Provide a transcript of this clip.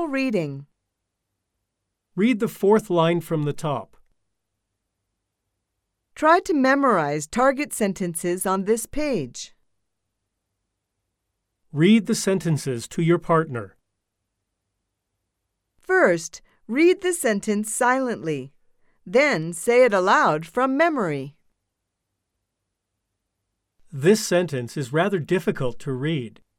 reading. Read the fourth line from the top. Try to memorize target sentences on this page. Read the sentences to your partner. First, read the sentence silently. Then say it aloud from memory. This sentence is rather difficult to read.